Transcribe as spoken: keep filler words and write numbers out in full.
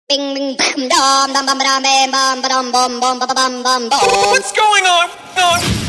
Bing bing bam dum dum bum ba dum bam bam ba dum bum bum ba ba bum bum bum. What's going on? on?